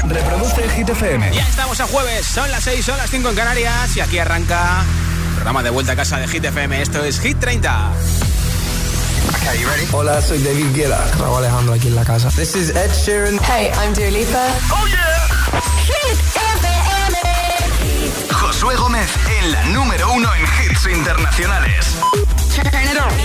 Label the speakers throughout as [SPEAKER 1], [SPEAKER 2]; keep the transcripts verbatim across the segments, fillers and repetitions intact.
[SPEAKER 1] Reproduce Hit F M.
[SPEAKER 2] Ya estamos a jueves, son las seis, son las cinco en Canarias y aquí arranca el programa de vuelta a casa de Hit F M. Esto es Hit treinta.
[SPEAKER 1] Okay, you ready? Hola, soy David Guetta.
[SPEAKER 3] Raúl Alejandro aquí en la casa.
[SPEAKER 1] This is Ed Sheeran.
[SPEAKER 4] Hey, I'm Dua Lipa.
[SPEAKER 1] Oh yeah.
[SPEAKER 4] Hit F M.
[SPEAKER 1] Josué Gómez en la número uno en hits internacionales.
[SPEAKER 4] Turn it on.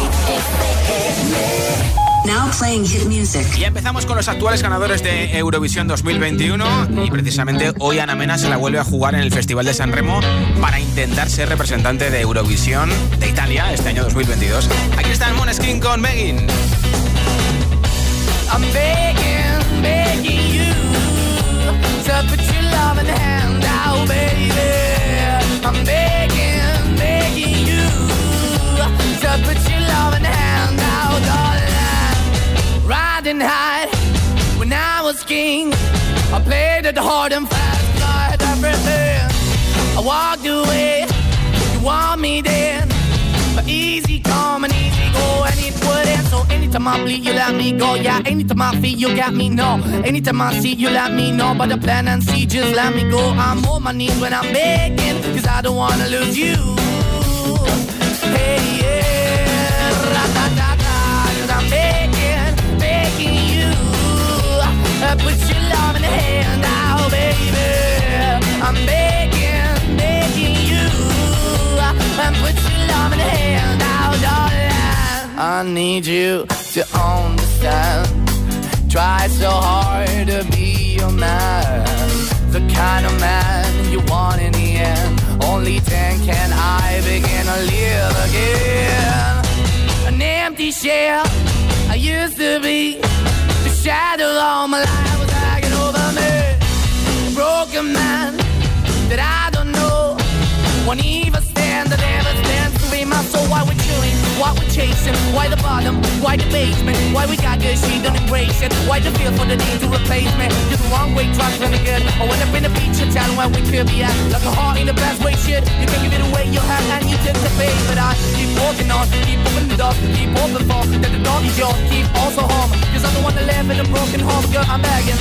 [SPEAKER 4] Now playing hit music.
[SPEAKER 2] Y empezamos con los actuales ganadores de Eurovisión dos mil veintiuno y precisamente hoy Ana Mena se la vuelve a jugar en el Festival de San Remo para intentar ser representante de Eurovisión de Italia este año dos mil veintidós. Aquí está el Måneskin con Begging.
[SPEAKER 5] I'm begging, begging you to put your love in the hand out, baby. I'm begging, begging you to put your love in the hand out, darling. Riding high when I was king, I played it hard and fast, got everything. I walked away, you want me then, but easy come and easy go, and it wouldn't. So anytime I bleed, you let me go. Yeah, anytime I feel, you got me, no. Anytime I see, you let me know. But the plan and see, just let me go. I'm on my knees when I'm begging, cause I don't wanna lose you. Hey, yeah, ra-da-da-da, cause I'm begging, begging you. Uh, put your love in the hand out, baby. I'm begging, begging you. Uh, put your love in the hand out, darling. I need you to understand. Try so hard to be your man, the kind of man you want in the end. Only then can I begin to live again. An empty shell I used to be, the shadow all my life was hanging over me. A broken man that I don't know won't even stand, that never stands to be my soul. Why we're chilling, why we're chasing, why the bottom, why the basement, why we got good, she don't embrace it, why the feel for the need to replace me. You're the wrong way, trying to good. I went up in the feature town where we could be at, like a heart in the best way, shit. You can give it away, you have, and you took the pay. But I keep walking on, keep moving the dog, keep open for that the dog is yours, keep also home. Cause I'm the one that live in a broken home, girl, I'm begging.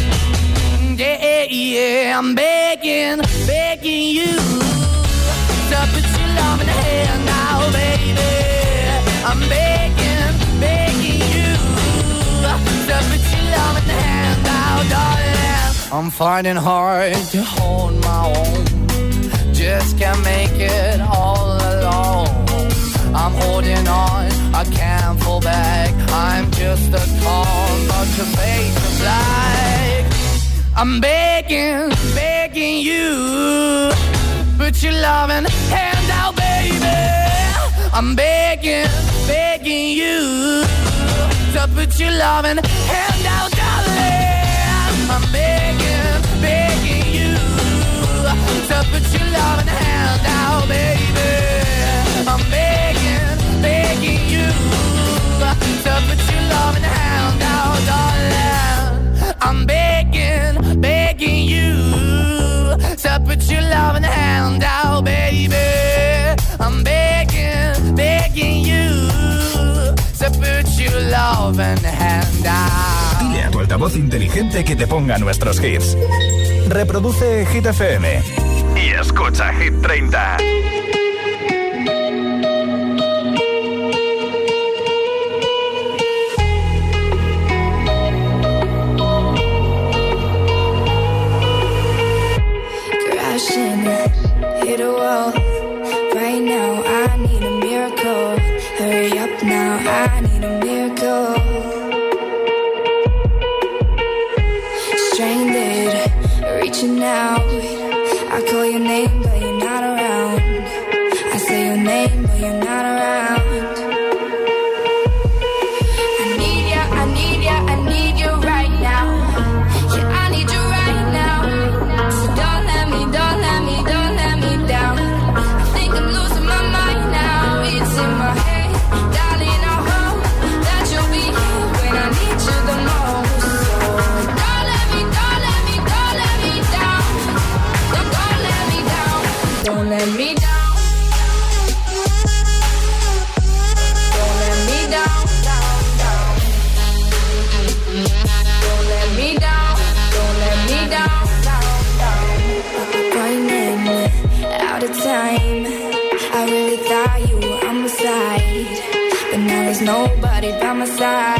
[SPEAKER 5] Yeah, yeah, I'm begging, begging you to put your love in the hand now, baby. I'm begging, begging you to put your love in the hand now, darling. I'm finding hard to hold my own, just can't make it all alone. I'm holding on, I can't fall back, I'm just a call, but your face is black. I'm begging, begging you, put your loving hand out, baby. I'm begging, begging you to put your loving hand out, darling. I'm begging, begging you to put your loving hand out, baby. I'm begging, begging you to put your loving hand out, darling. I'm begging, begging you to put your loving hand out, baby. I'm begging, begging you to put your loving hand out.
[SPEAKER 1] Dile a tu altavoz inteligente que te ponga nuestros hits. Reproduce Hit F M y escucha Hit treinta.
[SPEAKER 6] Hit a wall. Right now I need a miracle. Hurry up now, I need a miracle. Stranded, reaching out. I call your name but you're not around. I say your name but you're not around. I need ya, I need ya, I need you right now. Yeah, I need you right now. So don't let me, don't let me, don't let me down. I think I'm losing my mind now. It's in my head, darling, I hope that you'll be here when I need you the most. So don't let me, don't let me, don't let me down. somebody by my side.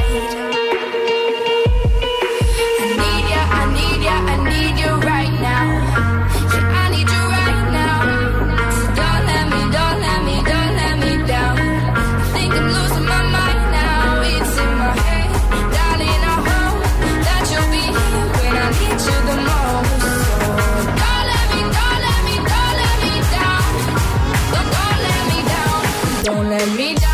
[SPEAKER 6] I need ya, I need ya, I need you right now. Yeah, I need you right now. So don't let me, don't let me, don't let me down. I think I'm losing my mind now. It's in my head, darling. I hope that you'll be here when I need you the most. So don't let me, don't let me, don't let me down. Don't, don't let me down. Don't let me down.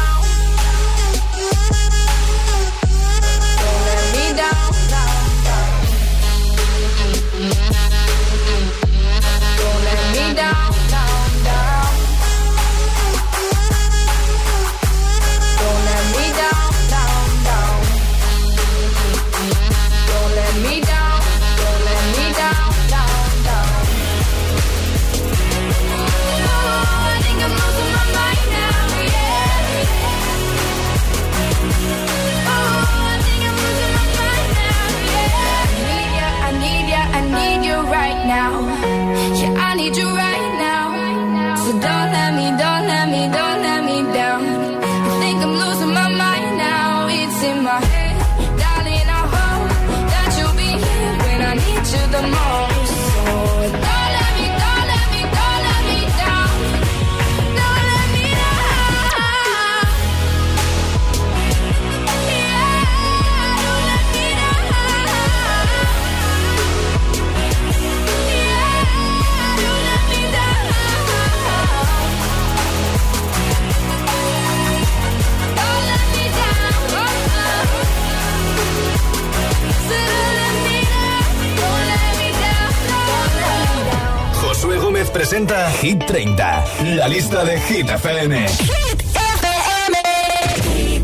[SPEAKER 1] Presenta Hit treinta, la lista de Hit F M.
[SPEAKER 4] Hit F M.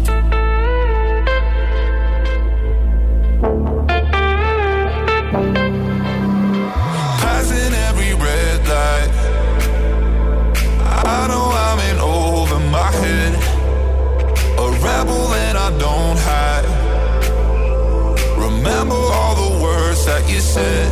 [SPEAKER 3] Passing every red light, I know I'm in over my head. A rebel and I don't hide. Remember all the words that you said.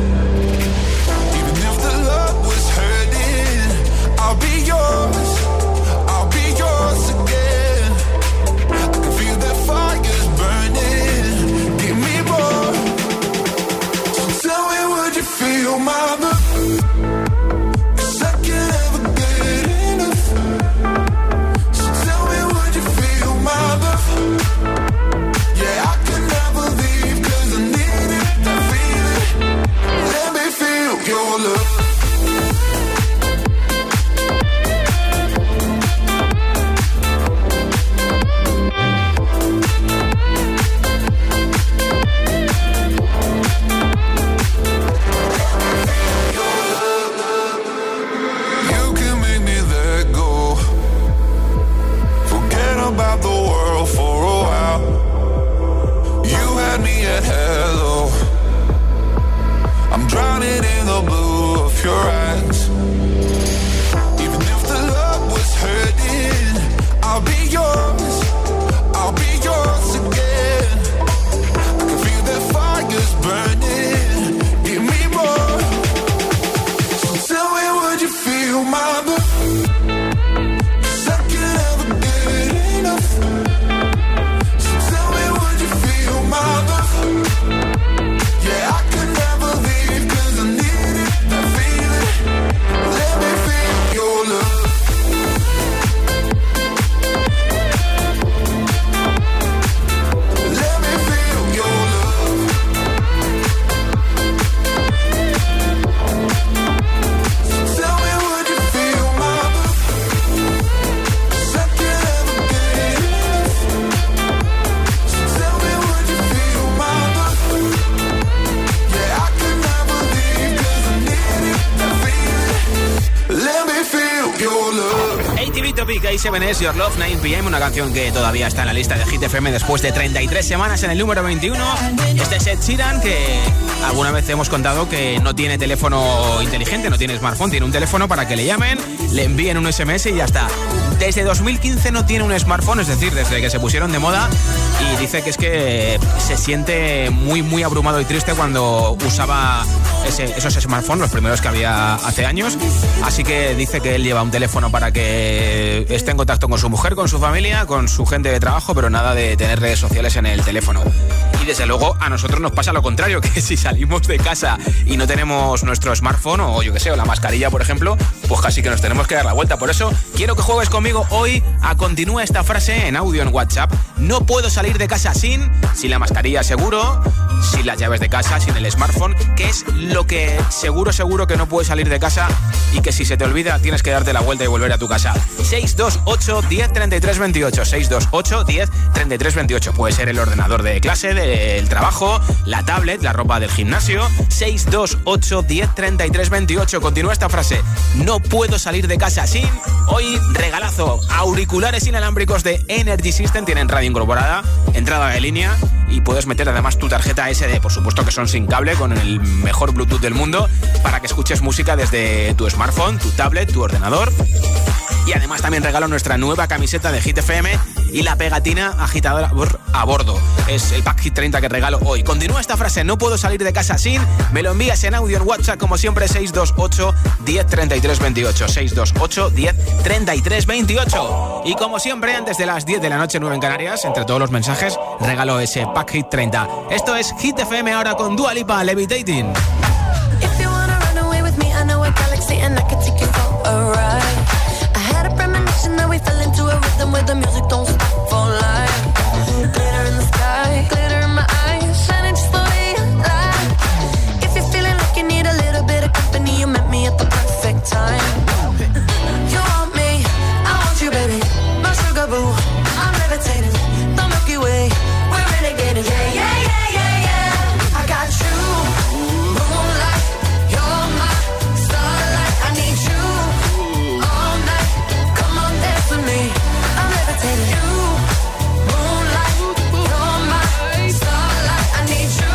[SPEAKER 3] I'll be yours, I'll be yours again. I can feel the fire's burning. Give me more. So tell me, would you feel my love? 'Cause I can't ever get enough. So tell me, would you feel my love? Yeah, I can never leave 'cause I need it, I feel it. Let me feel your love. About the world for a while. You had me at hello. I'm drowning in the blue of your eyes. Even if the love was hurting, I'll be yours, I'll be yours again. I can feel the fire's burning. Give me more. So tell me, would you feel my love?
[SPEAKER 2] A siete S, Your Love, nueve p m, una canción que todavía está en la lista de Hit F M después de treinta y tres semanas en el número veintiuno. Este es Ed Sheeran, que alguna vez hemos contado que no tiene teléfono inteligente, no tiene smartphone, tiene un teléfono para que le llamen, le envíen un S M S y ya está. Desde dos mil quince no tiene un smartphone, es decir, desde que se pusieron de moda, y dice que es que se siente muy, muy abrumado y triste cuando usaba ese, esos smartphones, los primeros que había hace años. Así que dice que él lleva un teléfono para que esté en contacto con su mujer, con su familia, con su gente de trabajo, pero nada de tener redes sociales en el teléfono. Y desde luego a nosotros nos pasa lo contrario, que si salimos de casa y no tenemos nuestro smartphone o yo que sé, o la mascarilla, por ejemplo, pues casi que nos tenemos que dar la vuelta. Por eso quiero que juegues conmigo hoy a continúa esta frase en audio en WhatsApp. No puedo salir de casa sin, sin la mascarilla seguro, sin las llaves de casa, sin el smartphone. ¿Qué es lo que seguro, seguro que no puedes salir de casa y que si se te olvida tienes que darte la vuelta y volver a tu casa? seis dos ocho, diez, treinta y tres, veintiocho. seis dos ocho, diez, treinta y tres, veintiocho. Puede ser el ordenador de clase, del trabajo, la tablet, la ropa del gimnasio. seis dos ocho, diez, treinta y tres, veintiocho. Continúa esta frase. No puedo salir de casa sin. Hoy regalazo. Auriculares inalámbricos de Energy System. Tienen radio incorporada, entrada de línea y puedes meter además tu tarjeta ese de, por supuesto que son sin cable, con el mejor Bluetooth del mundo, para que escuches música desde tu smartphone, tu tablet, tu ordenador. Y además también regalo nuestra nueva camiseta de Hit F M y la pegatina agitadora a bordo. Es el pack Hit treinta que regalo hoy. Continúa esta frase, no puedo salir de casa sin. Me lo envías en audio en WhatsApp, como siempre, seis dos ocho, diez, treinta y tres, veintiocho. seis dos ocho, diez, treinta y tres, veintiocho. Y como siempre, antes de las diez de la noche, nueve en Canarias, entre todos los mensajes, regalo ese pack Hit treinta. Esto es Hit F M ahora con Dua Lipa, Levitating.
[SPEAKER 7] If you wanna run away with me, I know a galaxy and I can take you for a ride. I had a premonition that we fell into a rhythm where the music don't stop for life. Glitter in the sky, glitter in my eyes, shining just the way you lie. If you're feeling like you need a little bit of company, you met me at the perfect time. You want me, I want you, baby. My sugar boo, I'm levitating. The Milky Way, we're renegading. Yeah, yeah, yeah, yeah, yeah. I got you, moonlight. You're my starlight. I need you all night. Come on, dance with me. I'm levitating. You, moonlight. You're my starlight. I need you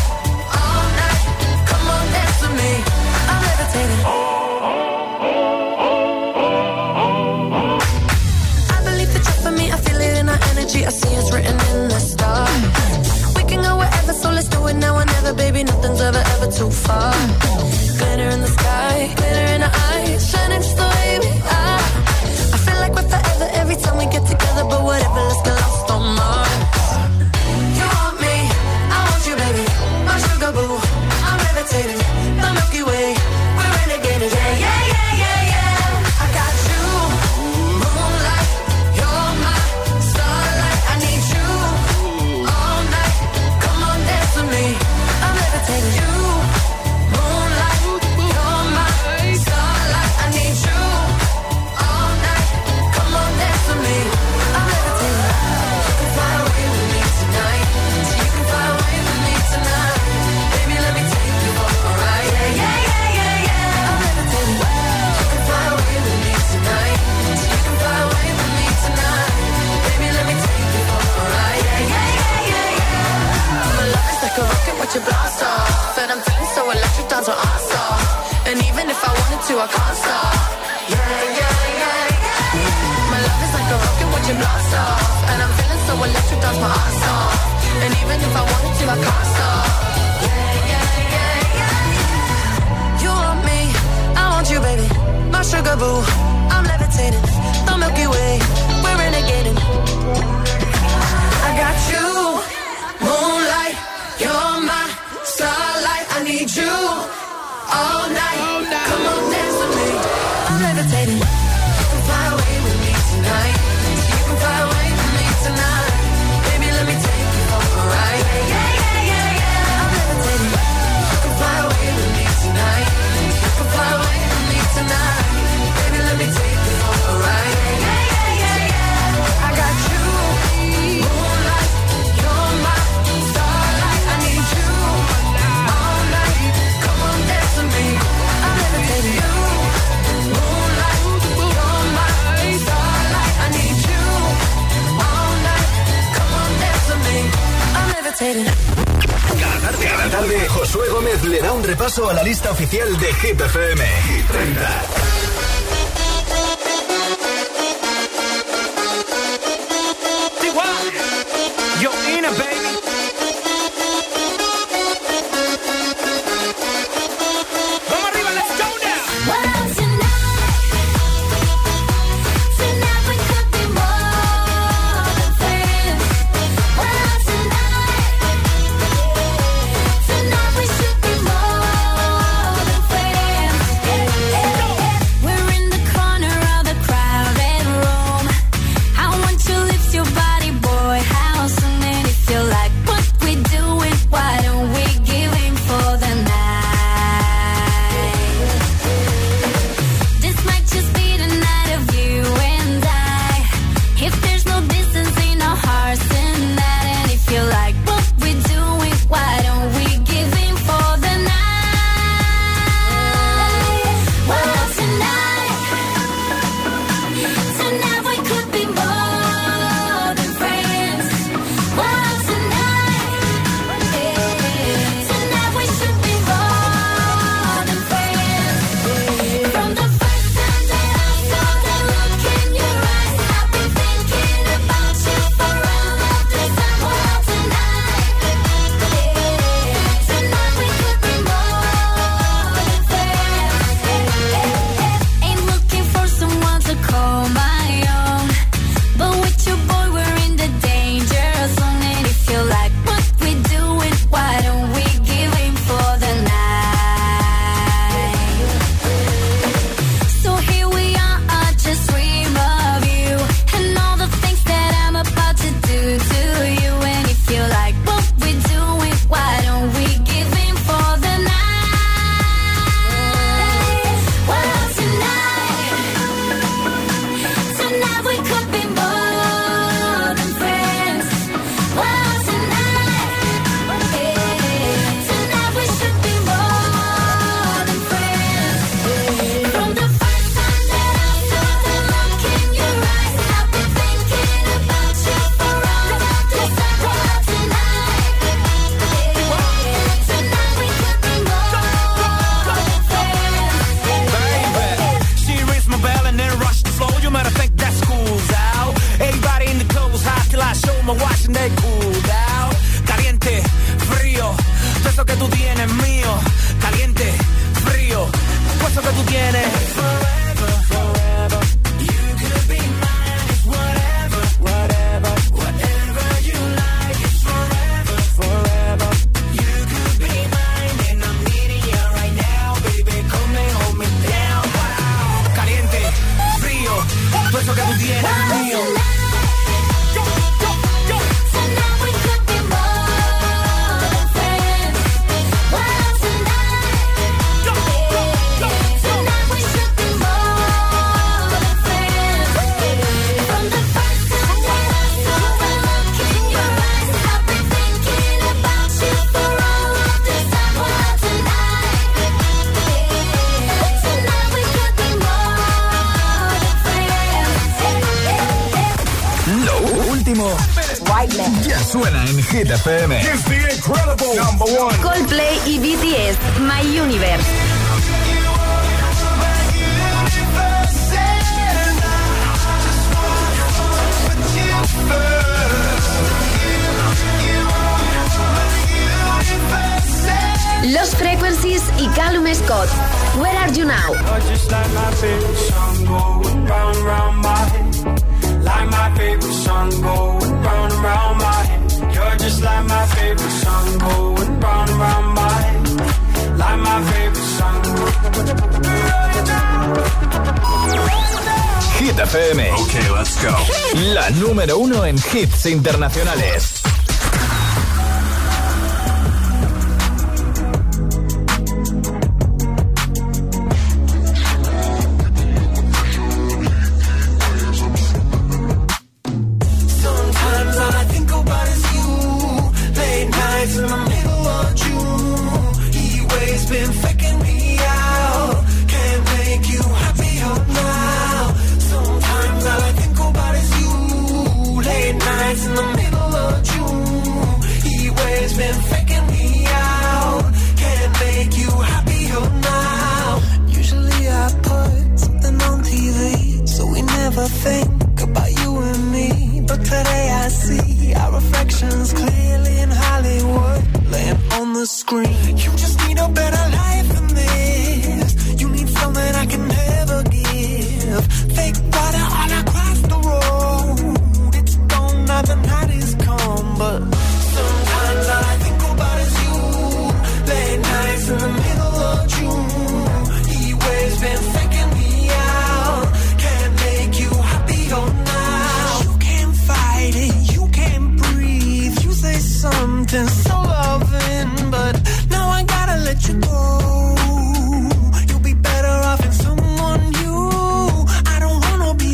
[SPEAKER 7] all night. Come on, dance with me. I'm levitating. I believe that you're for me. I feel it in our energy. I see it's written in the stars. We can go wherever, so let's do it now or never, baby. Nothing's ever, ever too far. Glitter in the sky, glitter in our eyes, shining just the way we are. I feel like we're forever every time we get together, but whatever, let's get lost on Mars. You want me, I want you, baby. My sugar boo, I'm levitating. The Milky Way, we're renegading. Yeah, yeah, yeah, yeah, yeah. I got you, moonlight. You're my starlight. I need you all night. Come on, dance with me. I'm levitating. You, moonlight. You're my starlight. I need you all night. Come on, dance with me. I'm levitating. You can fly away with me tonight. You can fly away with me tonight. Baby, let me take you for a ride. Yeah, yeah, yeah, yeah, yeah. I'm levitating. You can fly away with me tonight. You can fly away with me tonight. Baby, let me take you for a ride. Yeah, yeah, yeah, yeah, yeah. My love is like a rocket, watch it blast off. And I'm feeling so electric, down to awesome. And even if I wanted to, I can't stop. Yeah, yeah, yeah, yeah. My love is like a rocket, watch it blast off. And I'm feeling so electric, down my ass off. And even if I wanted to, I can't stop. Yeah, yeah, yeah, yeah. You want me, I want you, baby. My sugar boo, I'm levitating. The Milky Way, we're renegading. I got you, moonlight. You're my starlight. I need you all night. Come on, dance with me. I'm levitating. You can fly away with me tonight. You can fly away with me tonight. Baby, let me take you for a ride. Yeah, yeah, yeah, yeah, yeah. I'm levitating. You can fly away with me tonight. You can fly away with me tonight. Baby, let me take you for a ride. Yeah, yeah, yeah, yeah. I got you, moonlight. You're my starlight. I need you all night. Come on, dance with me. I'm levitating. You, moonlight. You're my starlight. I need you all night. Come on, dance with me. I'm levitating.
[SPEAKER 1] Cada tarde, cada tarde, Josué Gómez le da un repaso a la lista oficial de Hit F M. Hit treinta.
[SPEAKER 2] Yo, in a baby.
[SPEAKER 5] mío, caliente, frío, pues lo que tú tienes. Forever, forever, you could be mine, it's whatever, whatever, whatever you like, it's forever, forever, you could be mine, and I'm needing you right now, baby, come and hold me down, wow. Caliente, frío, pues lo que tú tienes es mío.
[SPEAKER 1] Ya suena en Hit F M.
[SPEAKER 8] It's the incredible number one.
[SPEAKER 4] Coldplay y B T S, My Universe. Los Frequencies y Callum Scott. Where Are You Now?
[SPEAKER 5] Like my favorite song going round and round my head. You're just like my favorite song going round and round my head. Like my favorite song.
[SPEAKER 1] Hit F M.
[SPEAKER 8] Okay, let's go.
[SPEAKER 1] La número uno en hits internacionales.
[SPEAKER 5] Think about you and me, but today I see our reflections clearly in Hollywood, laying on the screen. You just need a better life than this. You need something I can never give. Fake water all across the road. It's gone now, the night is come, but sometimes all I think about is you. Late nights in the middle of June. He waves been faking me out. Can't make you happy or now. You can't fight it, you can't breathe. You say something so loving, but now I gotta let you go. You'll be better off in someone new. I don't wanna be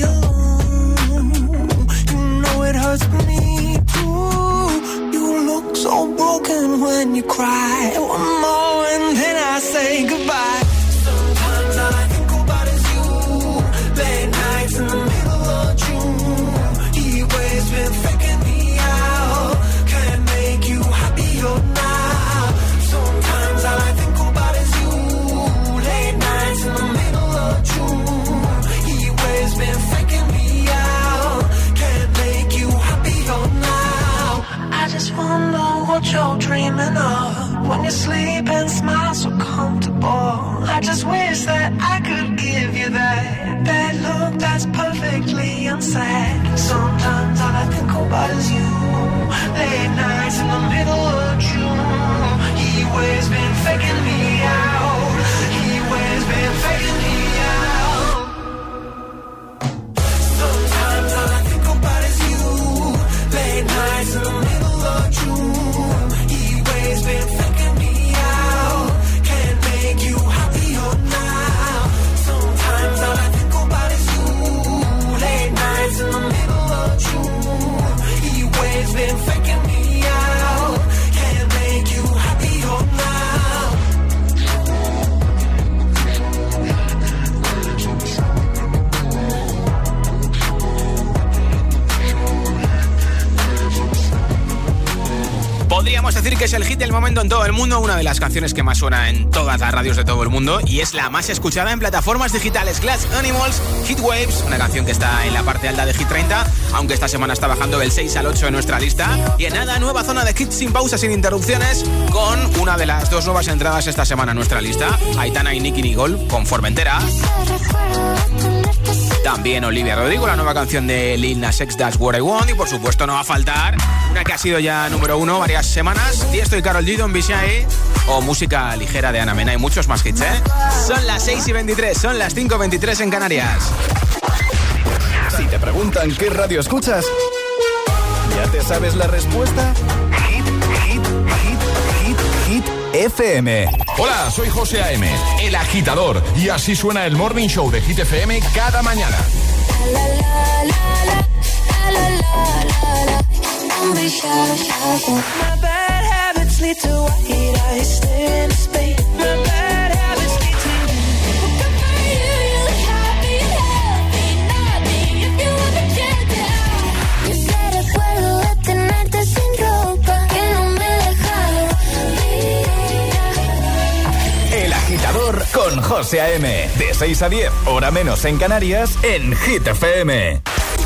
[SPEAKER 5] alone. You know it hurts me too. You look so broken when you cry. One more and then I say goodbye. Sometimes all I think about is you. Late nights in the middle of June. He always been faking me out. Can't make you happier now. Sometimes all I think about is you. Late nights in the middle of June. He always been faking me out. Can't make you happier now. I just wonder what you're dreaming of when you sleep and smile so comfortable. I just wish that I could give you that that look that's perfectly unsaid. Sometimes all I think about is you. Late nights in the middle of June. He always been faking me out. He always been faking me out. Sometimes all I think about is you. Late nights in the middle of June. He always been faking me out. Can't make you happier now. Sometimes all I think about is you. Late nights in the middle of June. He always been faking me out. Can't make you happier now.
[SPEAKER 2] momento en todo el mundo, una de las canciones que más suena en todas las radios de todo el mundo y es la más escuchada en plataformas digitales. Glass Animals, Heat Waves, una canción que está en la parte alta de Hit treinta, aunque esta semana está bajando del seis al ocho en nuestra lista. Y en nada, nueva zona de hits sin pausas, sin interrupciones, con una de las dos nuevas entradas esta semana en nuestra lista, Aitana y Nicky Nicole con Formentera. También Olivia Rodrigo, la nueva canción de Lil Nas X, That's What I Want. Y por supuesto no va a faltar una que ha sido ya número uno varias semanas, Tiesto y Karol G, Don Be Shy, o música ligera de Ana Mena y muchos más hits, ¿eh? Son las seis y veintitrés, son las cinco y veintitrés en Canarias.
[SPEAKER 1] Si te preguntan qué radio escuchas, ¿ya te sabes la respuesta? Hit, hit, hit, hit, hit F M.
[SPEAKER 8] Hola, soy José A M, el agitador, y así suena el Morning Show de Hit F M cada mañana.
[SPEAKER 9] My bad habits lead to white eyes staring into space. My bad habits lead to you. Good for you, you look happy and healthy. Nothing if you want to check it out. Yo sé recuerdo de tenerte sin ropa, que no me dejaba
[SPEAKER 1] El agitador con José A M. De seis a diez, hora menos en Canarias, en Hit F M.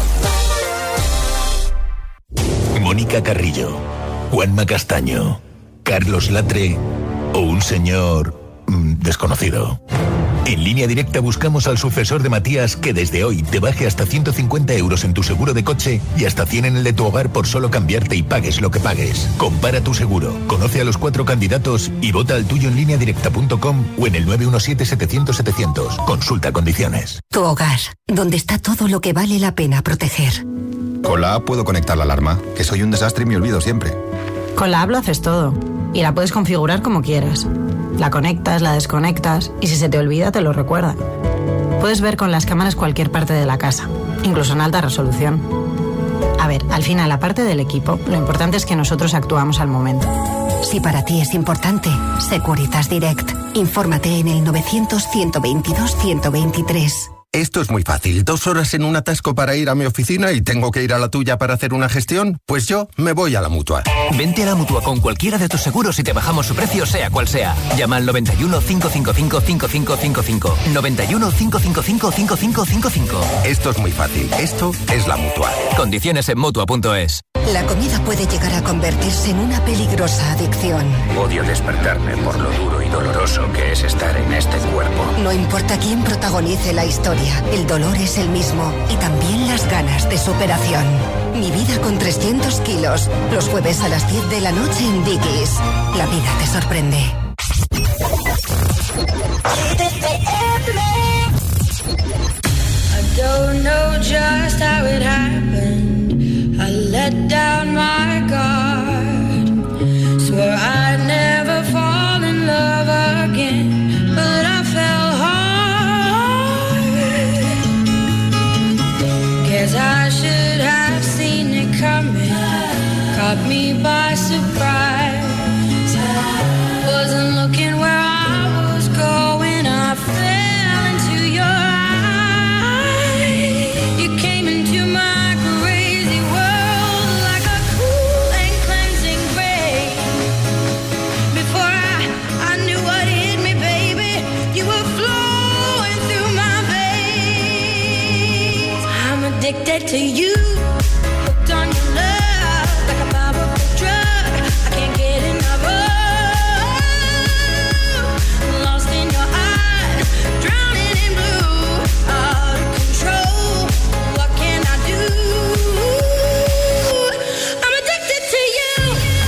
[SPEAKER 10] Mónica Carrillo, Juanma Castaño, Carlos Latre o un señor mmm, desconocido. En Línea Directa buscamos al sucesor de Matías que desde hoy te baje hasta ciento cincuenta euros en tu seguro de coche y hasta cien en el de tu hogar por solo cambiarte y pagues lo que pagues. Compara tu seguro, conoce a los cuatro candidatos y vota al tuyo en línea directa punto com o en el nueve uno siete, setecientos, setecientos. Consulta condiciones.
[SPEAKER 11] Tu hogar, donde está todo lo que vale la pena proteger.
[SPEAKER 12] Con la app puedo conectar la alarma, que soy un desastre y me olvido siempre.
[SPEAKER 13] Con la app lo haces todo y la puedes configurar como quieras. La conectas, la desconectas y si se te olvida te lo recuerda. Puedes ver con las cámaras cualquier parte de la casa, incluso en alta resolución. A ver, al final, aparte del equipo, lo importante es que nosotros actuamos al momento.
[SPEAKER 11] Si para ti es importante, Securitas Direct. Infórmate en el novecientos, ciento veintidós, ciento veintitrés.
[SPEAKER 12] Esto es muy fácil. ¿Dos horas en un atasco para ir a mi oficina y tengo que ir a la tuya para hacer una gestión? Pues yo me voy a la Mutua.
[SPEAKER 14] Vente a la Mutua con cualquiera de tus seguros y te bajamos su precio, sea cual sea. Llama al noventa y uno, cinco cinco cinco, cinco cinco cinco cinco. noventa y uno, cinco cinco cinco, cinco cinco cinco cinco.
[SPEAKER 12] Esto es muy fácil. Esto es la Mutua.
[SPEAKER 14] Condiciones en Mutua punto es.
[SPEAKER 11] La comida puede llegar a convertirse en una peligrosa adicción.
[SPEAKER 15] Odio despertarme por lo duro y doloroso que es estar en este cuerpo.
[SPEAKER 11] No importa quién protagonice la historia, el dolor es el mismo y también las ganas de superación. Mi vida con trescientos kilos, los jueves a las diez de la noche en Dickies. La vida te sorprende.
[SPEAKER 9] I don't know just how it happened. I let down my guard. Swore I'd never fall in love again, but I fell hard. Guess I should have seen it coming. Caught me by surprise. Wasn't looking where I was going. I fell into your eyes. You came into my crazy world like a cool and cleansing rain. Before I, I knew what hit me, baby, you were flowing through my veins. I'm addicted to you, hooked on your love like a powerful drug. I can't get enough of. Lost in your eyes, drowning in blue, out of control. What can I do? I'm addicted to you.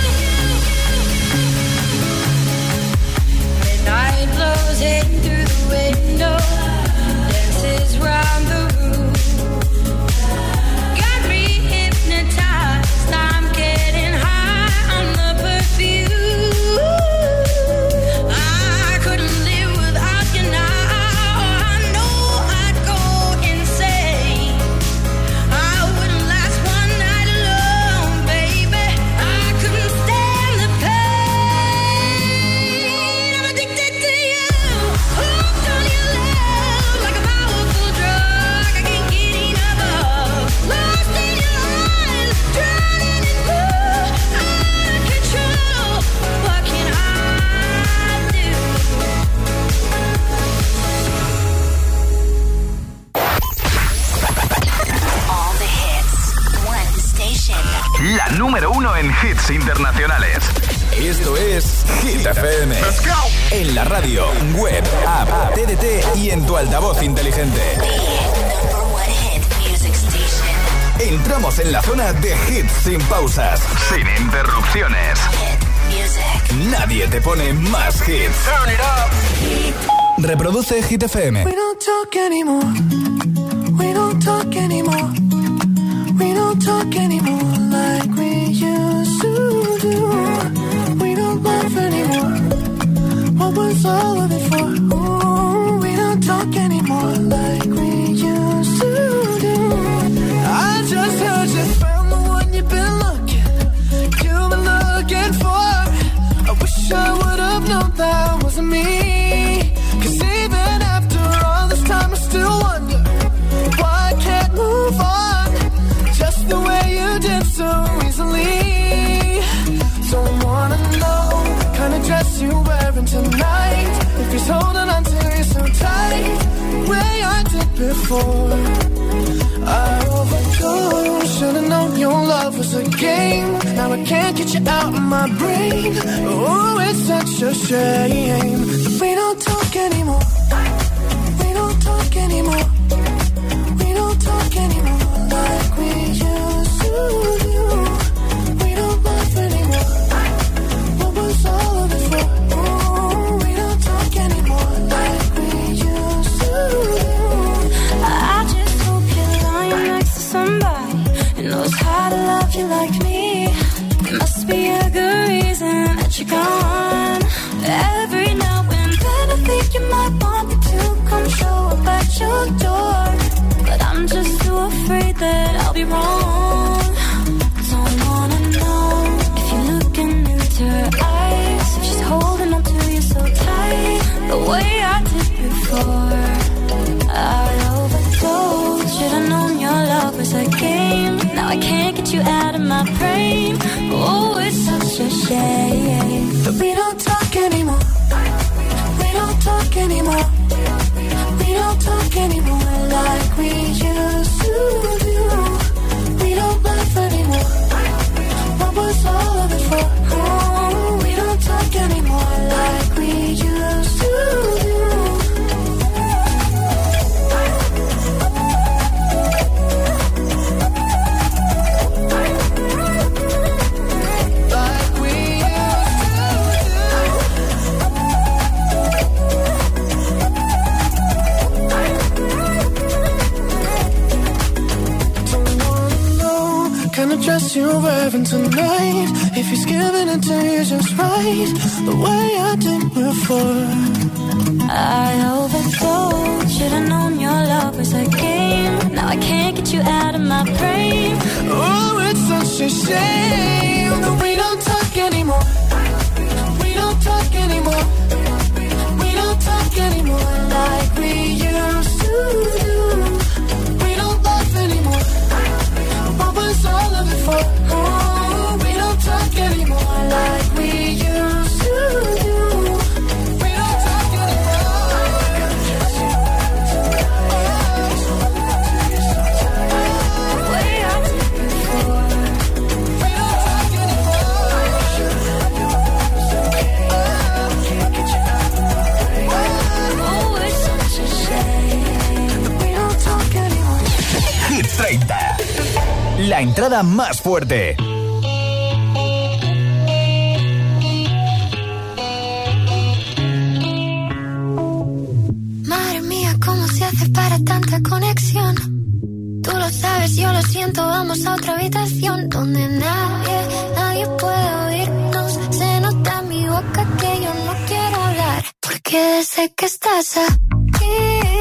[SPEAKER 9] Midnight blows in through the window, dances round the room. Got me hypnotized, I'm getting high on the perfume. I couldn't live without you now. I know I'd go insane. I wouldn't last one night alone, baby. I couldn't stand the pain. I'm addicted to you, hooked on your love
[SPEAKER 1] hits internacionales. Esto es Hit F M. Let's go. En la radio, web, app, T D T y en tu altavoz inteligente. Entramos en la zona de hits sin pausas, sin interrupciones. Nadie te pone más hits. Turn it up. Reproduce Hit F M.
[SPEAKER 9] We don't talk anymore. We don't talk anymore. We don't talk anymore like we used to do. We don't laugh anymore. What was all of it for? Ooh, we don't talk anymore like we used to do. I just heard you found the one you've been looking, you've been looking for. I wish I would have known that wasn't me. Cause even after all this time I still wonder why I can't move on just the way you did so easily. Don't wanna know the kind of dress you're wearing tonight, if he's holding on to you so tight, the way I did before. I overdosed, should've known your love was a game. Now I can't get you out of my brain. Oh, it's such a shame. We don't talk anymore. We don't talk anymore. We don't talk anymore like we used to do. We don't laugh anymore. What was all of it for? Oh, we don't talk anymore like we used to do.
[SPEAKER 16] I just hope you're lying next to somebody who knows how to love you like me. There must be a good reason that you're gone. Every now and then I think you might want me to come show up at your door, but I'm just too afraid that I'll be wrong. Don't wanna know if you're looking into her eyes, if she's holding on to you so tight, the way I did before. I overdosed, should've known your love was a game. Now I can't get you out of my brain. Oh, it's such a shame.
[SPEAKER 9] But we don't talk anymore. We don't talk anymore. We don't talk anymore like we used to do. We don't laugh anymore. What was all of it for? Oh, we don't talk anymore like we used to do. Dress you're wearing tonight, if he's giving it to you just right, the way I did before.
[SPEAKER 16] I overdosed, should've known your love was a game. Now I can't get you out of my brain.
[SPEAKER 9] Oh, it's such a shame that we don't talk anymore. We don't talk anymore. We don't talk anymore like we used to do. We don't laugh anymore. What was all of it for? Oh, we don't talk anymore like we used to do. We don't talk anymore. The way I did before. We don't talk anymore. Oh, it's such a shame that we don't talk anymore.
[SPEAKER 1] Hit treinta. La entrada más fuerte.
[SPEAKER 17] Madre mía, ¿cómo se hace para tanta conexión? Tú lo sabes, yo lo siento, vamos a otra habitación donde nadie, nadie puede oírnos. Se nota en mi boca que yo no quiero hablar, porque sé que estás aquí,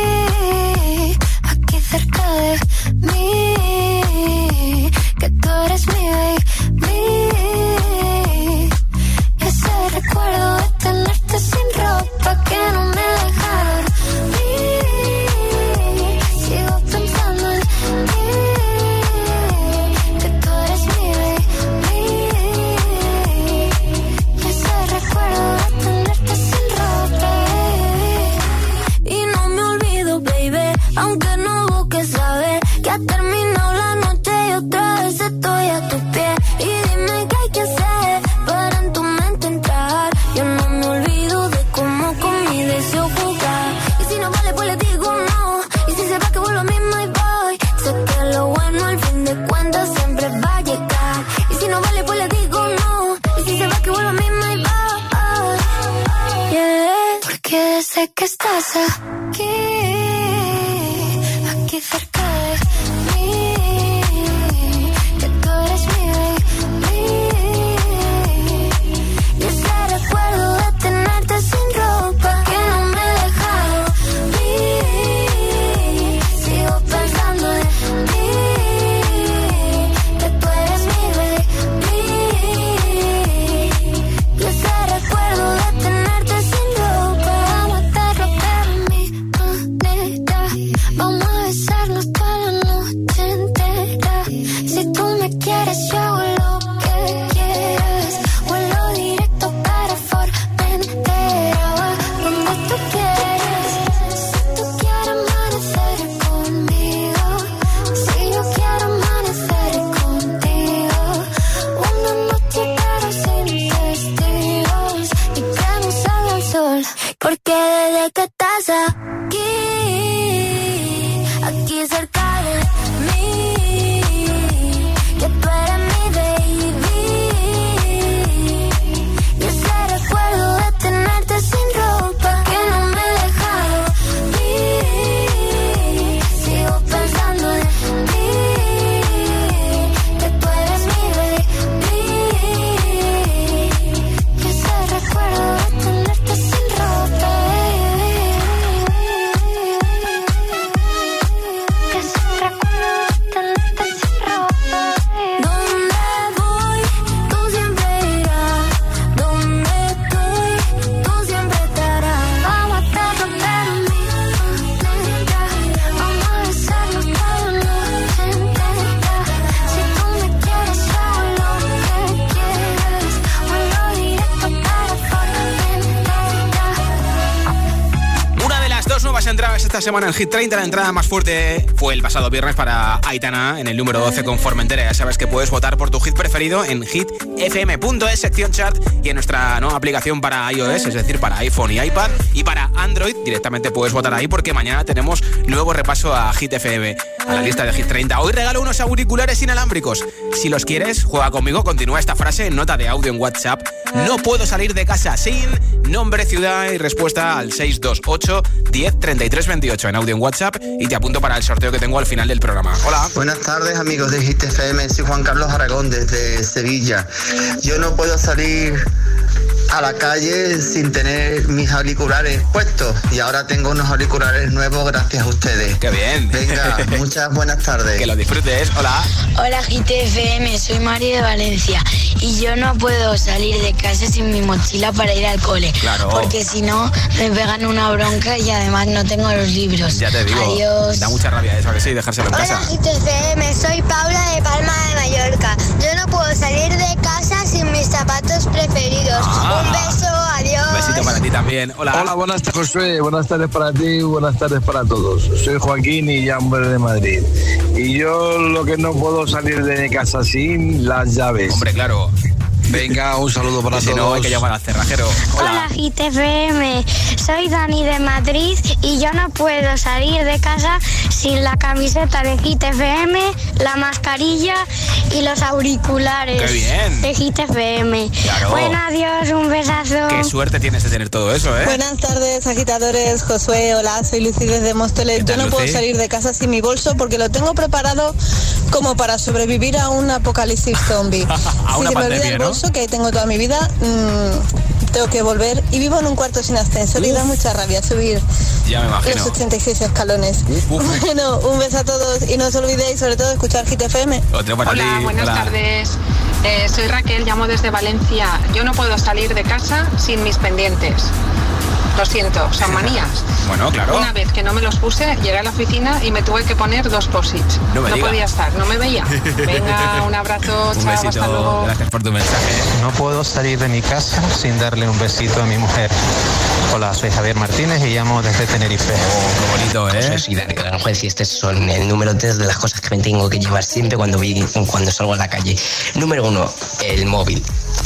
[SPEAKER 17] aquí cerca de mí, que tú eres mi baby. Ese recuerdo de tenerte sin ropa que no me deja dormir. Sigo pensando en ti, que tú eres mi baby. Ese recuerdo de tenerte sin ropa. Y no me olvido, baby, aunque no busques saber que ha terminado la noche y otra vez estoy a tu pie. Y dime qué hay que hacer sé que estás aquí, aquí cerca de mí, que tú eres mi baby. Y ese recuerdo de tenerte sin ropa que no me he dejado ir. Sigo pensando en ti, que tú eres mi baby. Y ese recuerdo de tenerte sin ropa, vamos a hacerlo pero mi manera. Vamos a besarnos toda la noche entera. Si tú me quieres yo hago lo que quieras. Vuelo directo para Formentera, donde tú quieras. Si tú quieres amanecer conmigo, si yo quiero amanecer contigo. Una noche pero sin testigos, y que no salga el sol, porque desde que estás aquí, aquí cerca de mí, que tú eres mi baby. Y ese recuerdo de tenerte sin ropa que no me he dejado ir. Sigo pensando en ti, que tú eres mi baby. Y ese recuerdo de tenerte sin ropa, que ese recuerdo de tenerte sin ropa. Donde voy, tú siempre irás. Donde estoy, tú siempre estarás. Vamos a hacerlo pero mi manera. Vamos a besarnos toda la noche entera. Si tú me quieres yo hago lo que quieras. Vuelo directo para Formentera.
[SPEAKER 2] Una de las dos nuevas entradas esta semana en Hit treinta. La entrada más fuerte fue el pasado viernes para Aitana en el número doce con Formentera. Ya sabes que puedes votar por tu hit preferido en hit f m punto es, sección chart, y en nuestra nueva aplicación para iOS, es decir, para iPhone y iPad, y para Android directamente puedes votar ahí, porque mañana tenemos nuevo repaso a Hit F M, a la lista de Hit treinta. Hoy regalo unos auriculares inalámbricos. Si los quieres, juega conmigo, continúa esta frase en nota de audio en WhatsApp. No puedo salir de casa sin nombre, ciudad y respuesta al seis dos ocho, diez, treinta y tres, veintiocho en audio en WhatsApp, y te apunto para el sorteo que tengo al final del programa. Hola.
[SPEAKER 18] Buenas tardes, amigos de Hit F M. Soy Juan Carlos Aragón desde Sevilla. Yo no puedo salir a la calle sin tener mis auriculares puestos, y ahora tengo unos auriculares nuevos gracias a ustedes.
[SPEAKER 2] ¡Qué bien!
[SPEAKER 18] Venga, muchas buenas tardes.
[SPEAKER 2] Que lo disfrutes. Hola.
[SPEAKER 19] Hola Hit F M, soy Mari de Valencia, y yo no puedo salir de casa sin mi mochila para ir al cole.
[SPEAKER 2] Claro.
[SPEAKER 19] Porque si no me pegan una bronca y además no tengo los libros.
[SPEAKER 2] Ya te digo.
[SPEAKER 19] Adiós.
[SPEAKER 2] Da mucha rabia eso, ¿a que sí? Dejárselo en
[SPEAKER 20] Hola
[SPEAKER 2] casa.
[SPEAKER 20] Hit F M, soy Paula de Palma de Mallorca. Yo no puedo salir de casa sin mis zapatos preferidos.
[SPEAKER 2] Ah.
[SPEAKER 20] Un beso, adiós.
[SPEAKER 2] Un besito para ti también. Hola.
[SPEAKER 21] Hola, buenas tardes, Josué. Buenas tardes para ti, buenas tardes para todos. Soy Joaquín y llamo de Madrid. Y yo lo que no puedo salir de mi casa sin las llaves.
[SPEAKER 2] Hombre, claro.
[SPEAKER 21] Venga, un saludo para
[SPEAKER 2] Y si
[SPEAKER 21] todos.
[SPEAKER 2] no, hay que llamar al cerrajero. Hola.
[SPEAKER 22] Hola Hit F M, soy Dani de Madrid y yo no puedo salir de casa sin la camiseta de Hit F M, la mascarilla y los auriculares.
[SPEAKER 2] ¡Qué bien!
[SPEAKER 22] De Hit F M.
[SPEAKER 2] Claro.
[SPEAKER 22] Bueno, adiós, un besazo.
[SPEAKER 2] Qué suerte tienes de tener todo eso, ¿eh?
[SPEAKER 23] Buenas tardes, agitadores. Josué, hola, soy Lucy desde Móstoles. Yo no
[SPEAKER 2] Lucy?
[SPEAKER 23] puedo salir de casa sin mi bolso porque lo tengo preparado como para sobrevivir a un apocalipsis zombie.
[SPEAKER 2] A
[SPEAKER 23] si
[SPEAKER 2] una
[SPEAKER 23] se me
[SPEAKER 2] pandemia,
[SPEAKER 23] olvida el
[SPEAKER 2] ¿no?
[SPEAKER 23] bolso, que ahí tengo toda mi vida, mmm, tengo que volver. Y vivo en un cuarto sin ascensor y da mucha rabia subir
[SPEAKER 2] Ya me imagino.
[SPEAKER 23] los ochenta y seis escalones.
[SPEAKER 2] Uf.
[SPEAKER 23] Bueno, un beso a todos y no os olvidéis sobre todo escuchar Hit F M.
[SPEAKER 2] Otro para
[SPEAKER 24] Hola,
[SPEAKER 2] ti.
[SPEAKER 24] buenas
[SPEAKER 2] Hola.
[SPEAKER 24] tardes. Eh, soy Raquel, llamo desde Valencia. Yo no puedo salir de casa sin mis pendientes. Lo siento, son manías.
[SPEAKER 2] Bueno, claro.
[SPEAKER 24] Una vez que no me los puse, llegué a la oficina y me tuve que poner dos posits.
[SPEAKER 2] No me diga.
[SPEAKER 24] podía estar, no me veía. Venga, un abrazo,
[SPEAKER 2] Un
[SPEAKER 24] chao,
[SPEAKER 2] besito.
[SPEAKER 24] hasta luego.
[SPEAKER 2] Gracias por tu mensaje.
[SPEAKER 25] No puedo salir de mi casa sin darle un besito a mi mujer. Hola, soy Javier Martínez y llamo desde Tenerife.
[SPEAKER 2] Oh, qué bonito, ¿eh?
[SPEAKER 26] Soy Dani de Aranjuez y este son el número tres de las cosas que me tengo que llevar siempre cuando, vi, cuando salgo a la calle. Número uno, el móvil.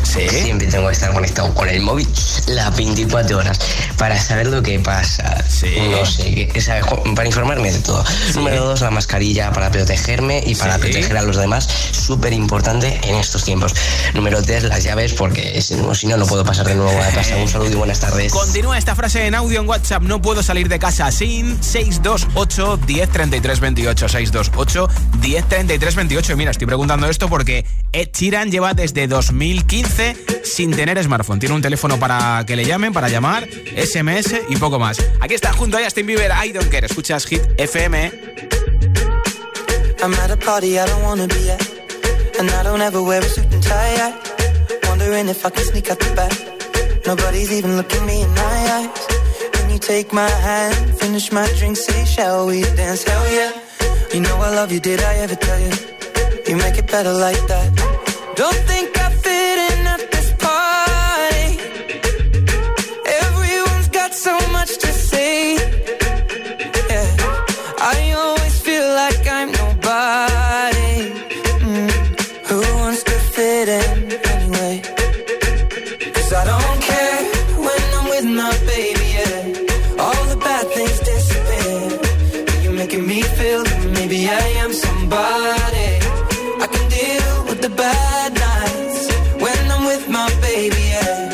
[SPEAKER 26] ¿Sí? Siempre tengo que estar conectado con el móvil las veinticuatro horas para saber lo que pasa. Sí. No sé, o sea, para informarme de todo. Sí. Número dos, la mascarilla para protegerme y para sí. proteger a los demás. Súper importante en estos tiempos. Número tres, las llaves, porque si no, no puedo pasar de nuevo a casa. Un saludo y buenas tardes.
[SPEAKER 2] Continúa esta frase en audio en WhatsApp. No puedo salir de casa sin seis dos ocho, diez, treinta y tres, veintiocho. seis dos ocho, diez, treinta y tres, veintiocho. Y mira, estoy preguntando esto porque Ed Sheeran lleva desde dos mil quince sin tener smartphone. Tiene un teléfono para que le llamen, para llamar, ese eme ese y poco más. Aquí está junto a Justin Bieber, I Don't Care. Escuchas Hit F M.
[SPEAKER 3] I'm at a party I don't wanna be at, and I don't ever wear a suit and tie. I wondering if I can sneak out the back. Nobody's even looking me in my eyes. Can you take my hand, finish my drink, say shall we dance? Hell yeah. You know I love you, did I ever tell you? You make it better like that. Don't think I fit in at this party. Everyone's got so much to say. Yeah, I always feel like I'm nobody. Mm. Who wants to fit in anyway? 'Cause I don't care when I'm with my baby, yeah. All the bad things disappear. You're making me feel that maybe I am somebody. I can deal with the bad nights when I'm with my baby, yeah.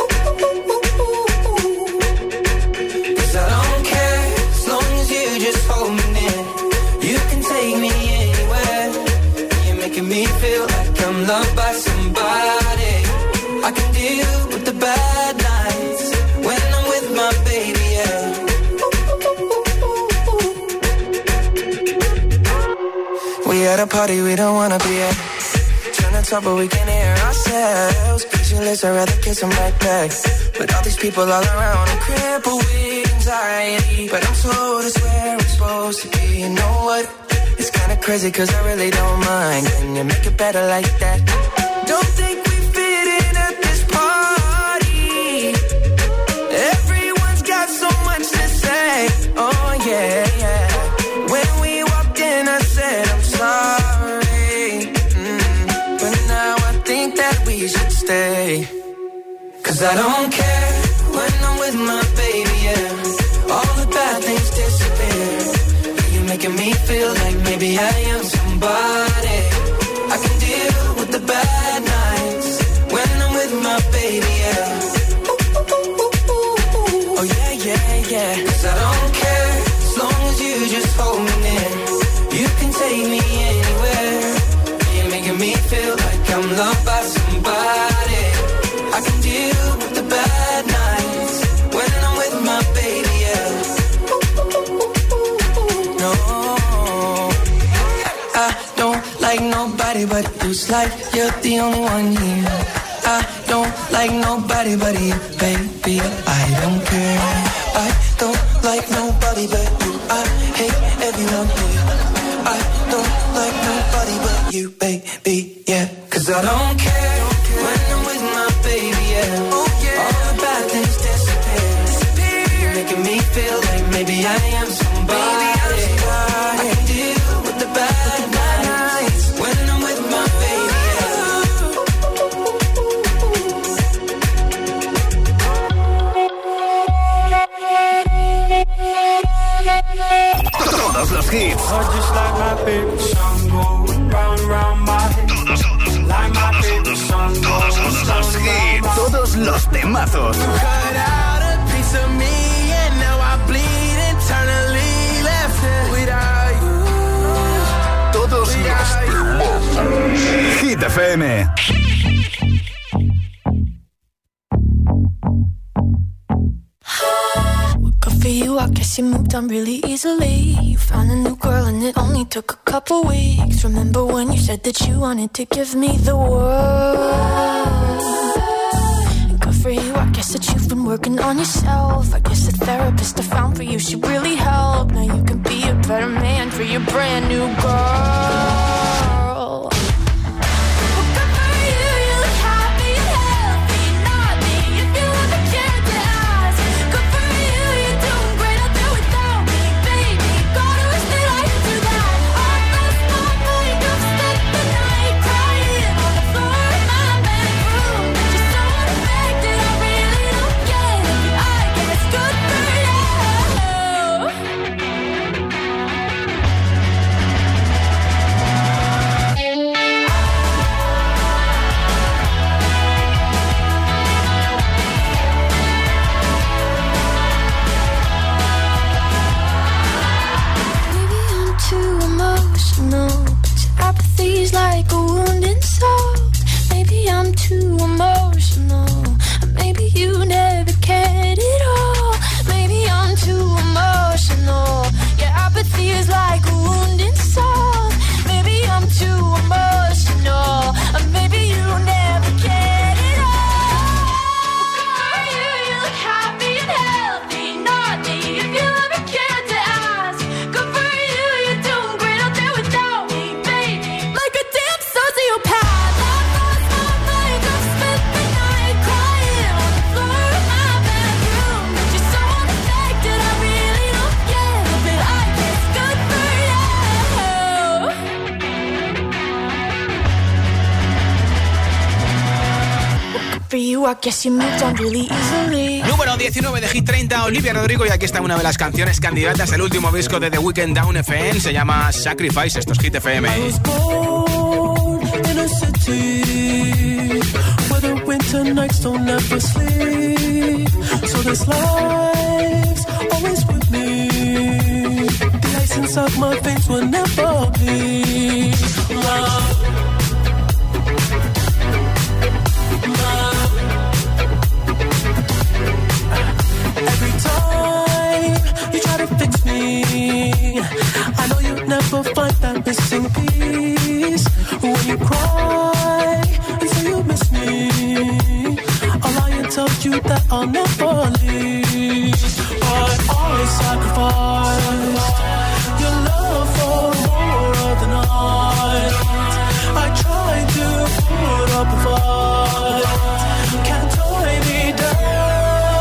[SPEAKER 3] 'Cause I don't care as long as you just hold me near. You can take me anywhere. You're making me feel like I'm loved by somebody. I can deal with the bad nights when I'm with my baby, yeah. We at a party we don't wanna be at. Trying to talk but we can hear ourselves. Pictureless, I'd rather kiss them right back. But all these people all around, I'm crippled with anxiety. But I'm told it's where I'm supposed to be. You know what? It's kinda crazy 'cause I really don't mind. Can you make it better like that? Don't think we fit in at this party. Everyone's got so much to say. Oh yeah, yeah. When we walked in I said I'm sorry, mm. But now I think that we should stay. 'Cause I don't care when I'm with my baby, yeah. All the bad things disappear. You're making me feel like maybe I am somebody. I can deal with the bad nights when I'm with my baby, yeah. Oh yeah, yeah, yeah. 'Cause I don't care as long as you just hold me near. You can take me anywhere. You're making me feel like I'm loved by somebody. I can deal with the bad nights when I'm with my baby, yeah. No, I don't like nobody but you. It's like you're the only one here. I don't like nobody but you, baby. I don't care. I don't like nobody but you. I hate everyone here. I don't like nobody but you, baby, yeah. 'Cause I don't care when I'm with my baby, yeah. Oh, yeah. All the bad things disappear. disappear. You're making me feel like maybe I am somebody. Maybe I'm somebody. I can deal with the bad nights when I'm with my baby,
[SPEAKER 1] Todos los hits. Todos, todos los hits. Todos los temazos. Todos los temazos. Hit F M.
[SPEAKER 16] For you, I guess you moved on really easily. You found a new girl and it only took a couple weeks. Remember when you said that you wanted to give me the world? And good for you, I guess that you've been working on yourself. I guess the therapist I found for you should really help. Now you can be a better man for your brand new girl.
[SPEAKER 9] I guess you moved on really easily.
[SPEAKER 2] Número diecinueve de Hit treinta, Olivia Rodrigo. Y aquí está una de las canciones candidatas del último disco de The Weeknd, Down F M. Se llama Sacrifice. Esto es Hit F M.
[SPEAKER 3] I was born in a city where the winter nights don't ever sleep. So this life's always with me. The ice inside my veins will never bleed. Love. Every time you try to fix me, I know you'll never find that missing piece. When you cry and say you miss me, I'll lie and tell you that I'll never leave. But I sacrificed your love for more of the night. I tried to put up a fight, can't tie me down.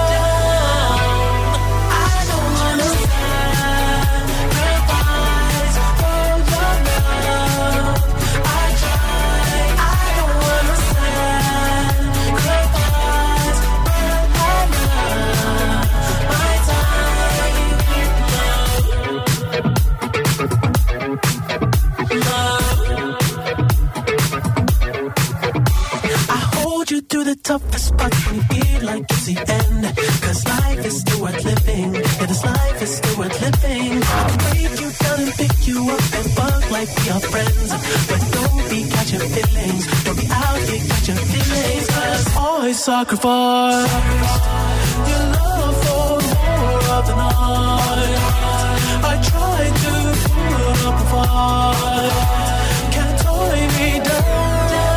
[SPEAKER 3] Through the toughest parts when you feel like it's the end. Cause life is still worth living. Yeah, this life is still worth living. I'll break you down and pick you up and fuck like we are friends. But don't be catching feelings. Don't be out here catching feelings. Cause I sacrifice your love for more of the night. I tried to put up a fight, can't tie me down.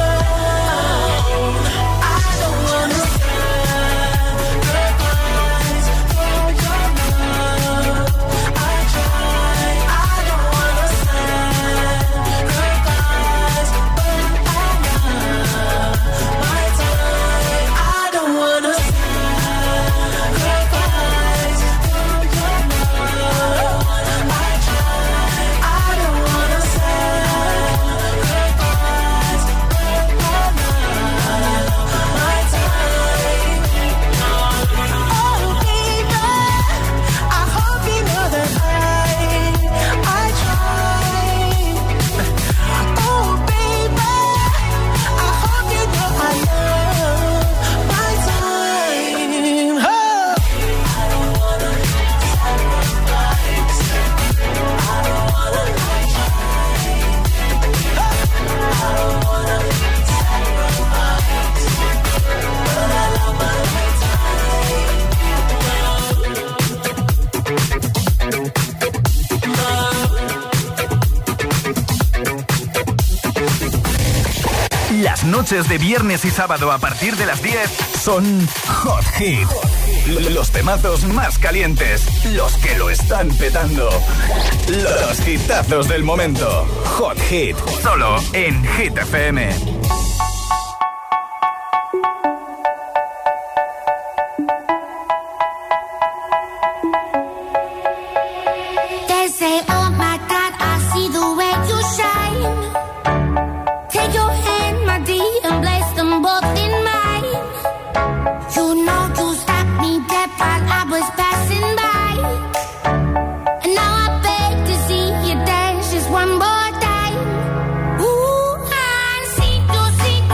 [SPEAKER 1] Las noches de viernes y sábado a partir de las diez son Hot Hit. Los temazos más calientes, los que lo están petando. Los hitazos del momento. Hot Hit, solo en Hit F M.
[SPEAKER 9] One more time. Ooh, I see you, see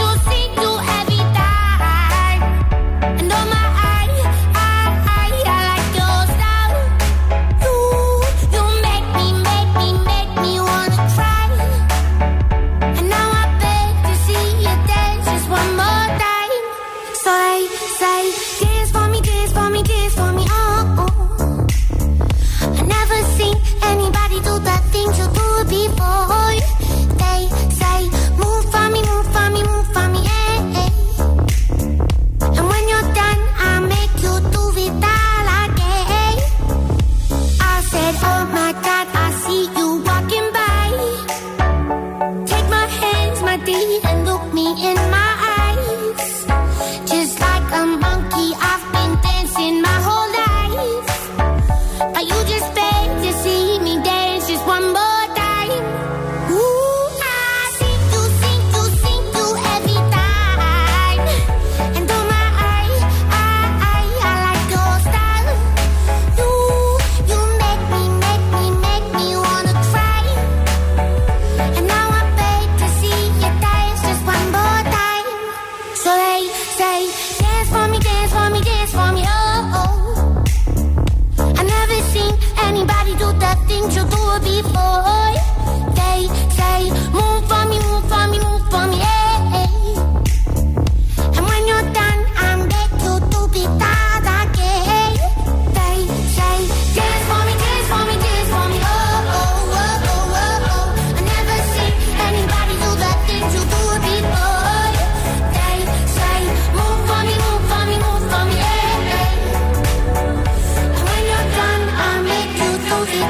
[SPEAKER 17] things you do before. They say, move for me, move for me, move for me, hey. And when you're done, I'm beg you to be that again. They say, dance for me, dance for me, dance for me, oh, oh, oh, oh, oh, oh. I never seen anybody do the things you do before. They say, move for me, move for me, move for me, hey. And when you're done, I'll make you do the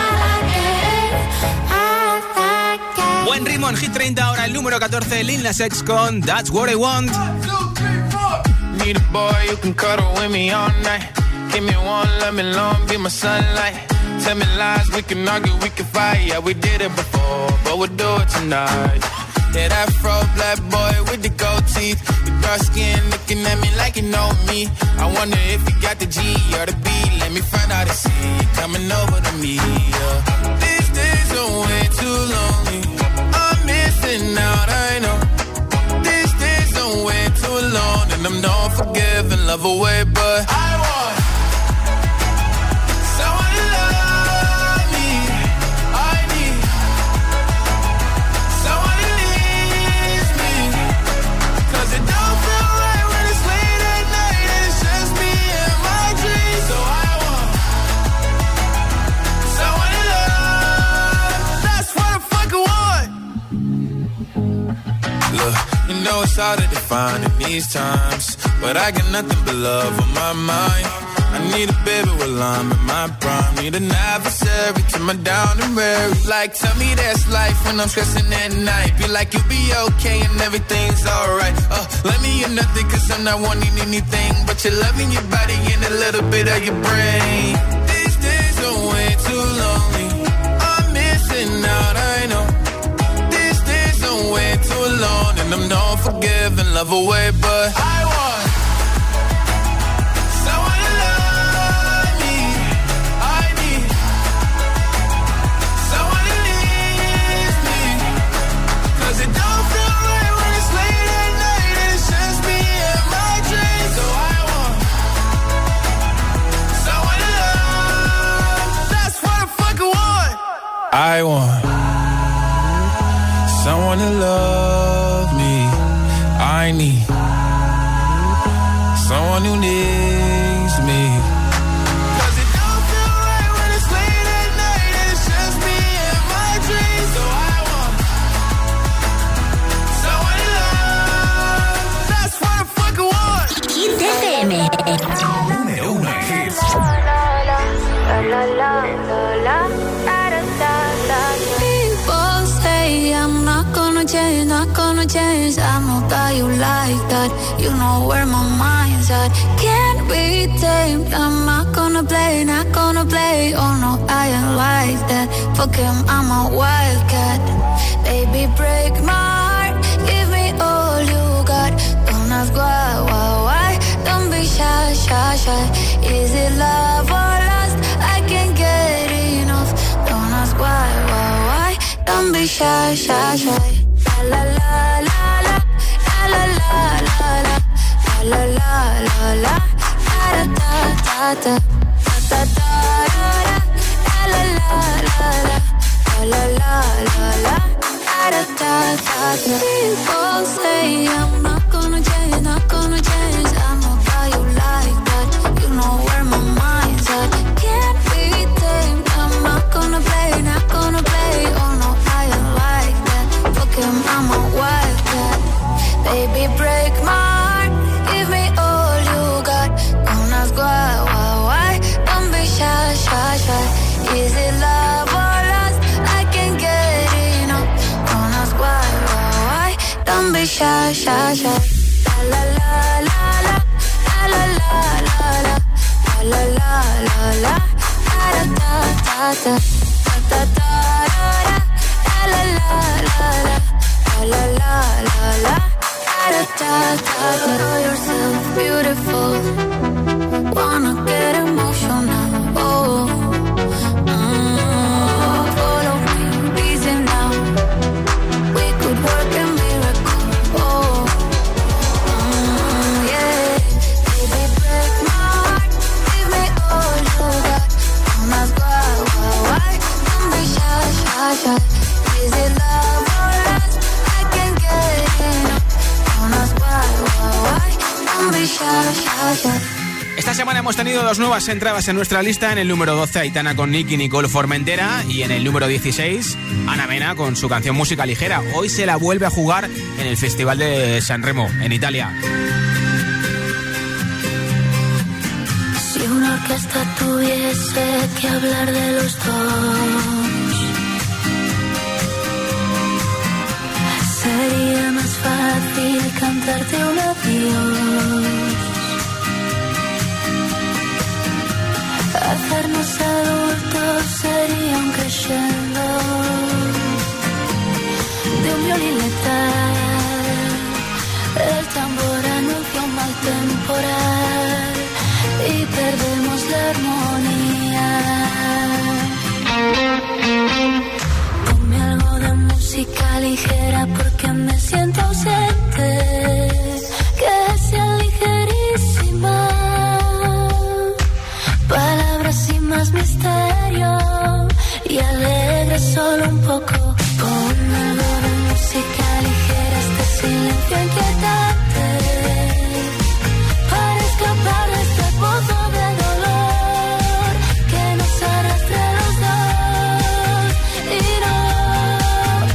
[SPEAKER 2] Buen ritmo en Hit treinta, ahora el número catorce, Lil Nas X con That's What I Want.
[SPEAKER 4] Need a boy you can cuddle with me all night. Give me one, let me long, be my sunlight. Tell me lies, we can argue, we can fight. Yeah, we did it before, but we'll do it tonight. Yeah, that fro black boy with the gold teeth, the dark skin looking at me like you know me. I wonder if you got the G or the B. Let me find out and see you coming over to me. Yeah. These days are way too lonely. I'm missing out, I know. These days are way too long, and I'm not forgiving, love away, but I want someone to love me. I need someone who needs me, 'cause it don't feel right when it's late at night and it's just me and my dreams. So I want someone to love. That's what I fucking want. Look, you know it's hard to define in these times, but I got nothing but love on my mind. I need a baby while I'm in my prime. Need an adversary to my down and weary. Like, tell me that's life when I'm stressing at night. Be like, you'll be okay and everything's alright. Uh, let me in nothing 'cause I'm not wanting anything but your love and your body and a little bit of your brain. These days are way too lonely. I'm missing out, I know. These days are way too long, and I'm not forgiving, love away, but I want someone to love me. I need someone who needs me, 'cause it don't feel right when it's late at night and it's just me and my dreams. So I want someone to love. That's what I fucking want. I want someone to love me. I need someone who needs me, 'cause it don't feel right when it's late at night and it's just me and my dreams. So I want someone to love. That's what I fucking want.
[SPEAKER 11] Hit F M.
[SPEAKER 1] Número uno en hits.
[SPEAKER 16] People say I'm not gonna change, not gonna change. I know that you like that. You know where my mind's at. Can't be tamed. I'm not gonna play, not gonna play. Oh no, I ain't like that. Fuck him, I'm a wildcat. Baby, break my heart. Give me all you got. Don't ask why, why, why. Don't be shy, shy, shy. Is it love or lust? I can't get enough. Don't ask why, why, why. Don't be shy, shy, shy. La la la la la la la la la la la la la da da da da da da la la la la la la la la da da da da. People say I'm not gonna change, not gonna change. I know how you like that. You know where my mind's at. Can't be tamed. I'm not gonna play, not gonna play. Oh no, I ain't like that. Fuck him, I'm a wildcat. Baby, break my heart. Give me all you got. Don't ask why, why, why. Don't be shy, shy, shy. Is it love or lust? I can't get enough. Don't ask why, why, why. Don't be shy, shy, shy. La la la la la la la la la la la la la da da da da da da la la la la la la la la da da da. Know yourself beautiful. Wanna get emotional. Oh, mm, follow me, reason now. We could work a miracle. Oh, mm, yeah. Baby, break my heart. Give me all you got. Don't ask why, why, why.
[SPEAKER 2] semana hemos tenido dos nuevas entradas en nuestra lista. En el número doce, Aitana con Nicky Nicole Formentera. Y en el número dieciséis, Ana Mena con su canción Música Ligera. Hoy se la vuelve a jugar en el Festival de Sanremo, en Italia.
[SPEAKER 9] Si una orquesta tuviese que hablar de los dos, sería más fácil cantarte un adiós. Hacernos adultos sería un crescendo de un violín letal. El tambor anuncia un mal temporal y perdemos la armonía. Ponme algo de música ligera porque me siento ausente, que sea ligerísima. Palabras sin más misterio y alegre solo un poco. Ponme algo de música ligera, este silencio inquietante, para escapar de este pozo de dolor que nos arrastra a los dos y no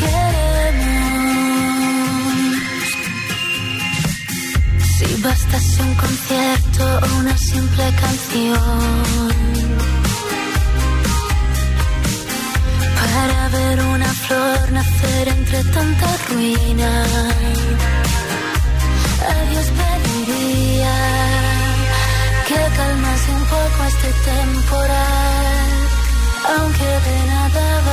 [SPEAKER 9] queremos. Si bastase un concierto o una simple canción para ver una flor nacer entre tanta ruina, a Dios pediría que calmase un poco este temporal, aunque de nada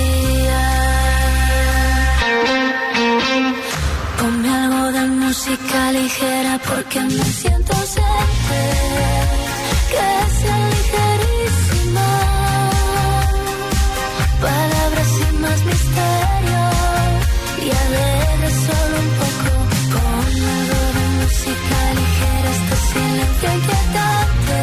[SPEAKER 9] valdría. Ponme algo de música ligera porque me siento ausente, que sea ligerísima. Palabras sin más misterio y alegre solo un poco. Ponme algo de música ligera, este silencio inquietante,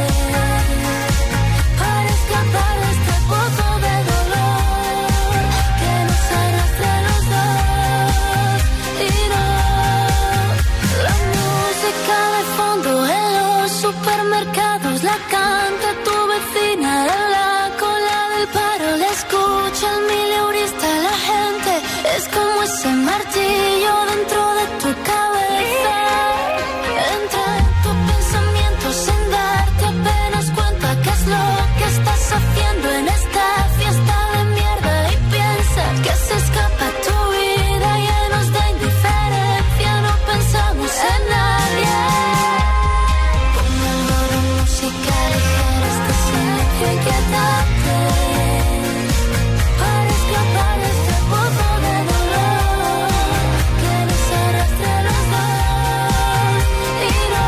[SPEAKER 9] para escapar de este pozo de dolor que nos arrastra a los dos y no. La música de fondo en los supermercados la canta tu vecina en la cola del paro, la escucha el mileurista, la gente es como ese martillo dentro de tu cabeza. Entra en tus pensamientos sin darte apenas cuenta qué es lo que estás haciendo en esta fiesta de mierda y piensas que se escapa tu vida llenos de indiferencia, no pensamos en nadie. Ponme algo de música ligera, este silencio inquietante, para escapar de este pozo de dolor que nos arrastra a los dos y no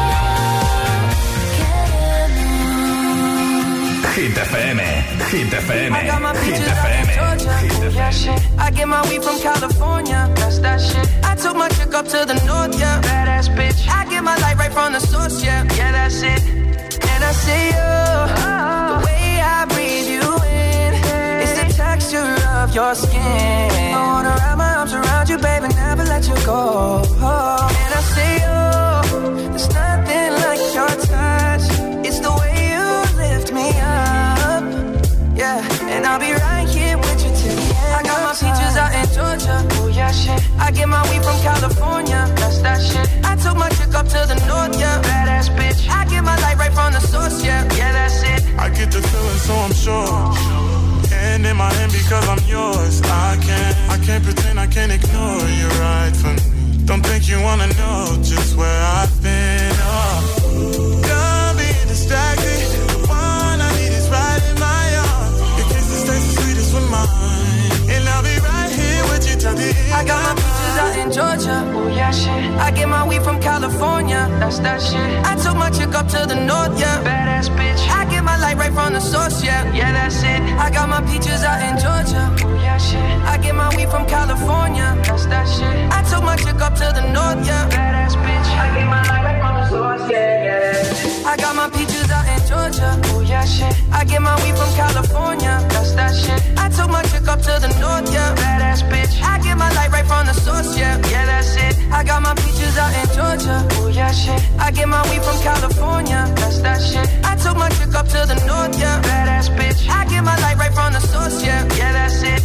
[SPEAKER 9] queremos.
[SPEAKER 1] Hit F M, Hit F M,
[SPEAKER 3] I got my
[SPEAKER 1] Hit
[SPEAKER 3] peaches
[SPEAKER 1] F
[SPEAKER 3] out in
[SPEAKER 1] M.
[SPEAKER 3] Georgia. Yeah, shit. I get my weed from California. That's that shit. I took my chick up to the north, yeah. Badass bitch. I get my light right from the source, yeah. Yeah, that's it. And I see you, the way I breathe you in. It's the texture of your skin. I wanna wrap my arms around you, baby, never let you go. And I see you, there's nothing like your touch. It's the way you lift me up, yeah. And I'll be right here with you till the end. I got my peaches out in Georgia, oh yeah, shit. I get my weed from California, that's that shit. I took my chick up to the north, yeah. Badass bitch. I get my light right from the source, yeah. Yeah, that's it.
[SPEAKER 5] I get the feeling, so I'm sure. Hand in my hand because I'm yours. I can't, I can't pretend, I can't ignore you right from me. Don't think you wanna know just where I've been. Oh, don't be distracted. The one I need is right in my arms. Your kisses taste the sweetest with mine, and I'll be right here with you till the end.
[SPEAKER 3] I got my peaches out in Georgia, oh yeah, shit. I get my weed from California, that's that shit. I took my chick up to the north, yeah. Badass bitch. I get my light right from the source, yeah. Yeah, that's it. I got my peaches out in Georgia, oh yeah, shit. I get my weed from California, that's that shit. I took my chick up to the north, yeah. Badass bitch. I get my light right from the source, yeah, yeah. I got my peaches out in Georgia, oh yeah, shit. I get my weed from California, that's that shit. I took my chick up to the north, yeah. Badass bitch. I get my light right from the source, yeah. Yeah, that's it. I got my peaches out in Georgia, oh yeah, shit. I get my weed from California, that's that's that shit. I took my chick up to the north, yeah. Badass bitch. I get my light right from the source, yeah. Yeah, that's it.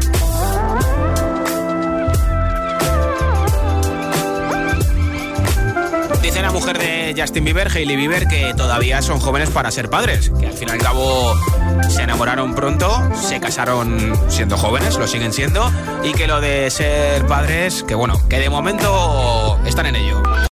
[SPEAKER 2] Dice la mujer de Justin Bieber, Hailey Bieber, que todavía son jóvenes para ser padres, que al fin y al cabo se enamoraron pronto, se casaron siendo jóvenes, lo siguen siendo, y que lo de ser padres, que bueno, que de momento están en ello.